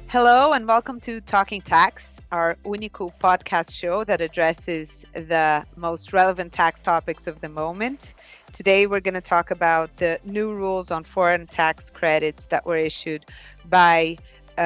Hello and welcome to Talking Tax, our Unico podcast show that addresses the most relevant tax topics of the moment. Today we're going to talk about the new rules on foreign tax credits that were issued by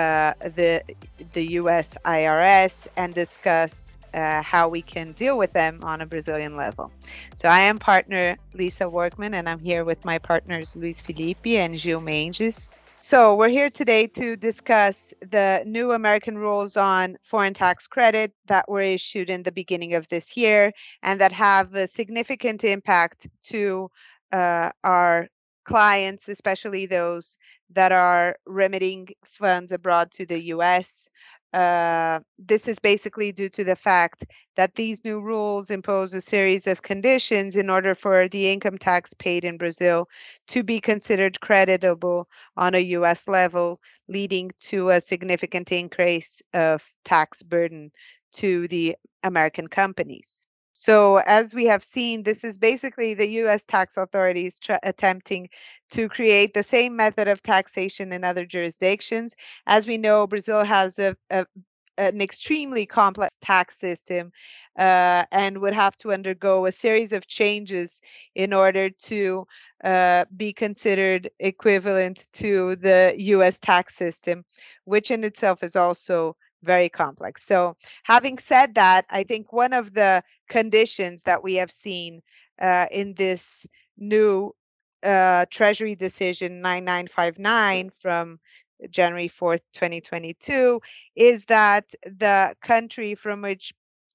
the US IRS and discuss how we can deal with them on a Brazilian level. So I am partner Lisa Workman and I'm here with my partners Luis Felipe and Gil Mendes. So we're here today to discuss the new American rules on foreign tax credit that were issued in the beginning of this year and that have a significant impact to our clients, especially those that are remitting funds abroad to the US. This is basically due to the fact that these new rules impose a series of conditions in order for the income tax paid in Brazil to be considered creditable on a US level, leading to a significant increase of tax burden to the American companies. So, as we have seen, this is basically the US tax authorities attempting to create the same method of taxation in other jurisdictions. As we know, Brazil has an extremely complex tax system and would have to undergo a series of changes in order to be considered equivalent to the US tax system, which in itself is also very complex. So, having said that, I think one of the conditions that we have seen in this new Treasury decision 9959 from January 4th, 2022, is that the country from which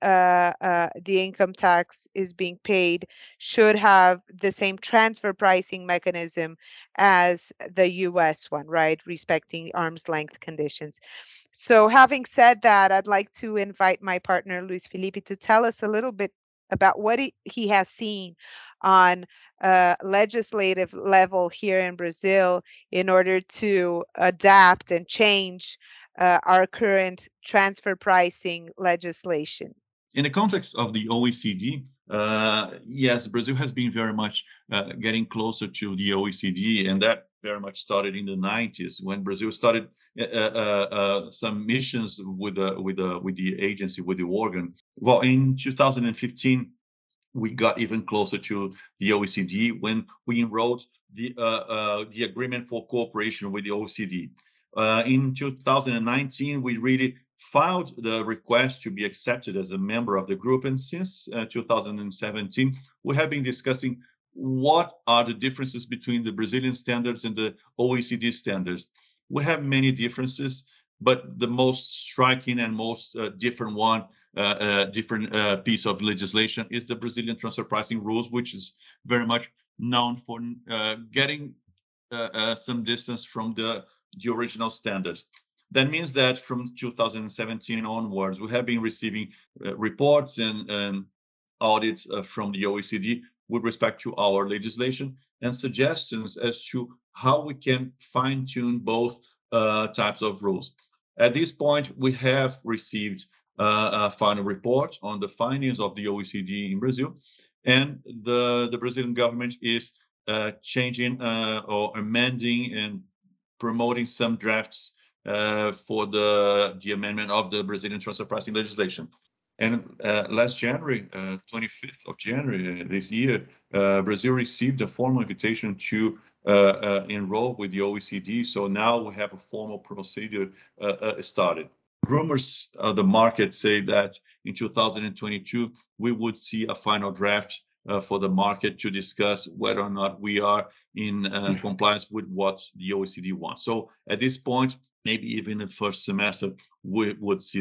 the income tax is being paid should have the same transfer pricing mechanism as the US one, right? Respecting arm's length conditions. So, having said that, I'd like to invite my partner, Luis Felipe, to tell us a little bit about what he has seen on legislative level here in Brazil in order to adapt and change our current transfer pricing legislation. In the context of the OECD, yes, Brazil has been very much getting closer to the OECD, and that very much started in the 90s when Brazil started some missions with the agency, with the organ. Well, in 2015, we got even closer to the OECD when we enrolled the agreement for cooperation with the OECD. In 2019, we really filed the request to be accepted as a member of the group, and since 2017, we have been discussing what are the differences between the Brazilian standards and the OECD standards. We have many differences, but the most striking and most different one different piece of legislation is the Brazilian transfer pricing rules, which is very much known for getting some distance from the original standards. That means that from 2017 onwards, we have been receiving reports and audits from the OECD with respect to our legislation and suggestions as to how we can fine tune both types of rules. At this point, we have received a final report on the findings of the OECD in Brazil, and the Brazilian government is changing or amending and promoting some drafts for the amendment of the Brazilian transfer pricing legislation. And last January, 25th of January this year, Brazil received a formal invitation to enroll with the OECD. So now we have a formal procedure started. Rumors of the market say that in 2022, we would see a final draft for the market to discuss whether or not we are in compliance with what the OECD wants. So at this point, maybe even in the first semester, we would see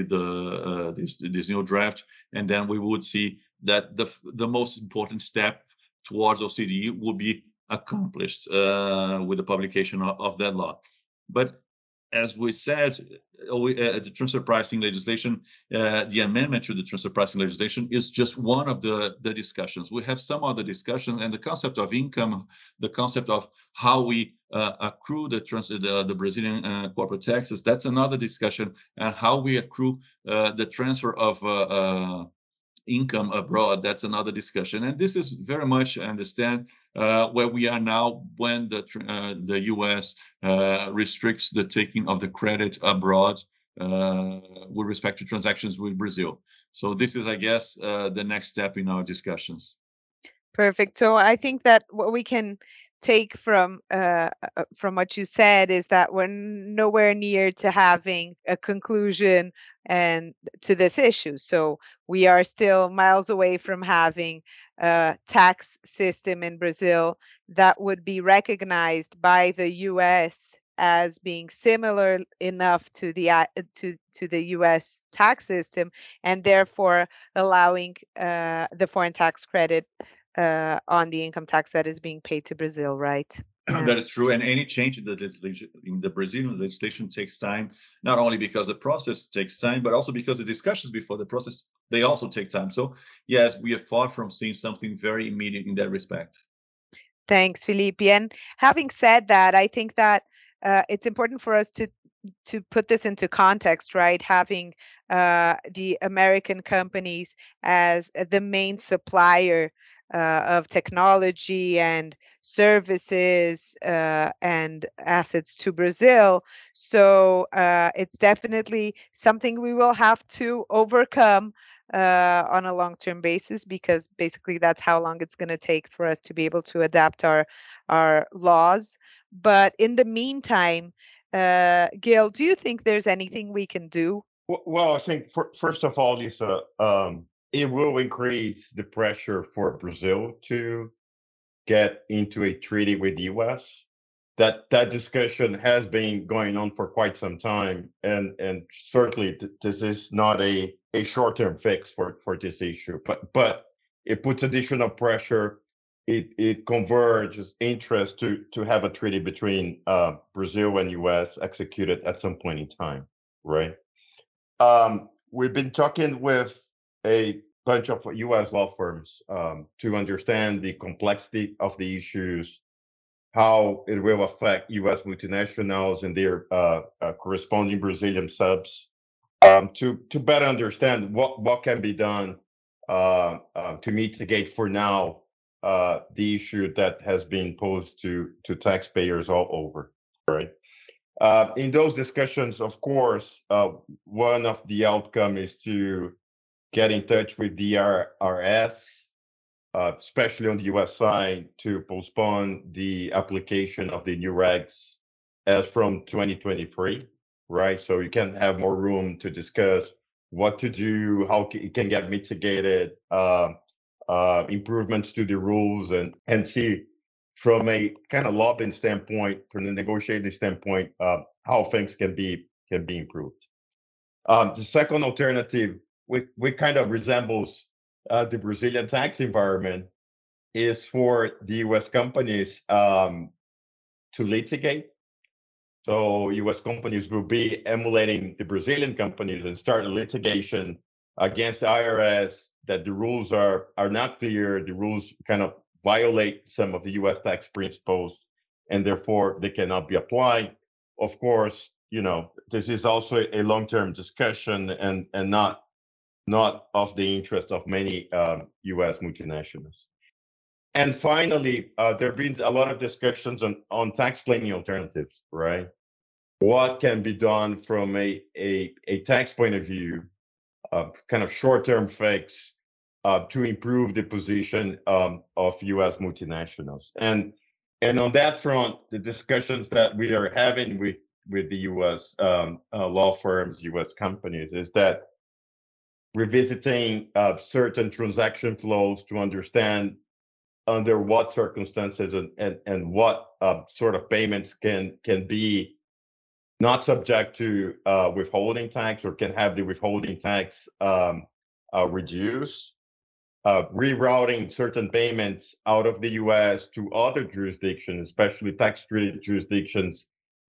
this new draft, and then we would see that the most important step towards OECD will be accomplished with the publication of that law. But as we said, the transfer pricing legislation, the amendment to the transfer pricing legislation is just one of the discussions. We have some other discussions, and the concept of income, the concept of how we accrue the Brazilian corporate taxes, that's another discussion, and how we accrue the transfer of income abroad, that's another discussion. And this is very much, I understand, where we are now when the US restricts the taking of the credit abroad with respect to transactions with Brazil. So this is, I guess, the next step in our discussions. Perfect. So I think that what we can take from what you said is that we're nowhere near to having a conclusion and to this issue. So we are still miles away from having a tax system in Brazil that would be recognized by the U.S. as being similar enough to the U.S. tax system, and therefore allowing the foreign tax credit on the income tax that is being paid to Brazil, right? That is true, and any change in the legislation, in the Brazilian legislation, takes time. Not only because the process takes time, but also because the discussions before the process, they also take time. So yes, we are far from seeing something very immediate in that respect. Thanks, Felipe. And having said that, I think that it's important for us to put this into context, right? Having the American companies as the main supplier of technology and services and assets to Brazil. So it's definitely something we will have to overcome on a long-term basis, because basically that's how long it's going to take for us to be able to adapt our laws. But in the meantime, Gail, do you think there's anything we can do? Well, I think first of all, Lisa, it will increase the pressure for Brazil to get into a treaty with the U.S. That discussion has been going on for quite some time, and certainly this is not a short-term fix for this issue, but it puts additional pressure. It converges interest to have a treaty between Brazil and U.S. executed at some point in time, right? We've been talking with a bunch of U.S. law firms to understand the complexity of the issues, how it will affect U.S. multinationals and their corresponding Brazilian subs, to better understand what can be done to mitigate for now the issue that has been posed to taxpayers all over, right? In those discussions, of course, one of the outcome is to get in touch with DRS, especially on the US side, to postpone the application of the new regs as from 2023, right? So you can have more room to discuss what to do, how it can get mitigated, improvements to the rules, and see from a kind of lobbying standpoint, from the negotiating standpoint, how things can be improved. The second alternative, which kind of resembles the Brazilian tax environment, is for the U.S. companies to litigate. So U.S. companies will be emulating the Brazilian companies and start a litigation against the IRS that the rules are not clear. The rules kind of violate some of the U.S. tax principles, and therefore they cannot be applied. Of course, this is also a long-term discussion and not of the interest of many U.S. multinationals. And finally, there have been a lot of discussions on tax planning alternatives, right? What can be done from a tax point of view, kind of short-term fix to improve the position of U.S. multinationals. And on that front, the discussions that we are having with the U.S. Law firms, U.S. companies, is that revisiting certain transaction flows to understand under what circumstances and what sort of payments can be not subject to withholding tax or can have the withholding tax reduced, rerouting certain payments out of the U.S. to other jurisdictions, especially tax-treated jurisdictions,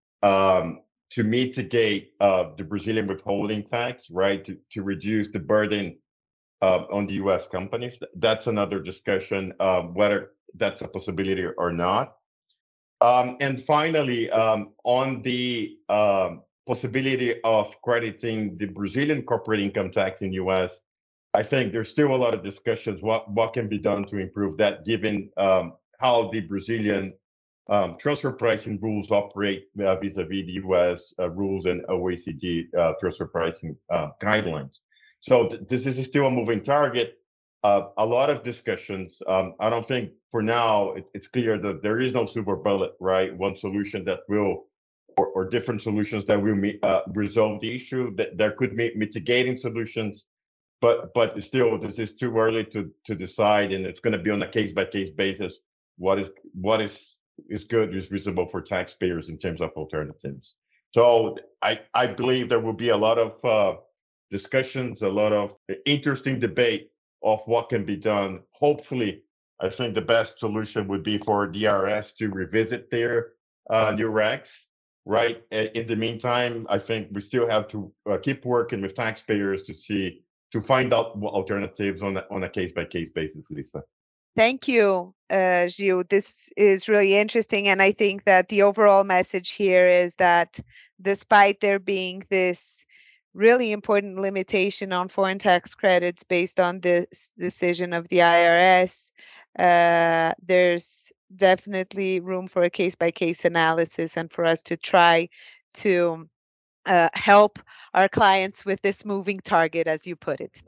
to mitigate the Brazilian withholding tax, right? To reduce the burden on the U.S. companies. That's another discussion, whether that's a possibility or not. And finally, on the possibility of crediting the Brazilian corporate income tax in U.S., I think there's still a lot of discussions what can be done to improve that, given how the Brazilian transfer pricing rules operate vis-a-vis the U.S. Rules and OECD transfer pricing guidelines. So this is still a moving target. A lot of discussions. I don't think for now it's clear that there is no silver bullet, right? One solution that will, or different solutions that will resolve the issue. That there could be mitigating solutions, but still, this is too early to decide, and it's going to be on a case by case basis. What is good, is reasonable for taxpayers in terms of alternatives. So I believe there will be a lot of discussions, a lot of interesting debate of what can be done. Hopefully, I think the best solution would be for DRS to revisit their new regs, right? In the meantime, I think we still have to keep working with taxpayers to find out what alternatives on a case by case basis, Lisa. Thank you, Gil. This is really interesting. And I think that the overall message here is that despite there being this really important limitation on foreign tax credits based on this decision of the IRS, there's definitely room for a case-by-case analysis and for us to try to help our clients with this moving target, as you put it.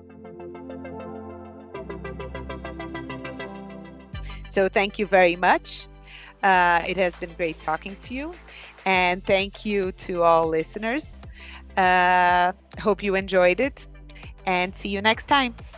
So thank you very much. It has been great talking to you. And thank you to all listeners. Hope you enjoyed it. And see you next time.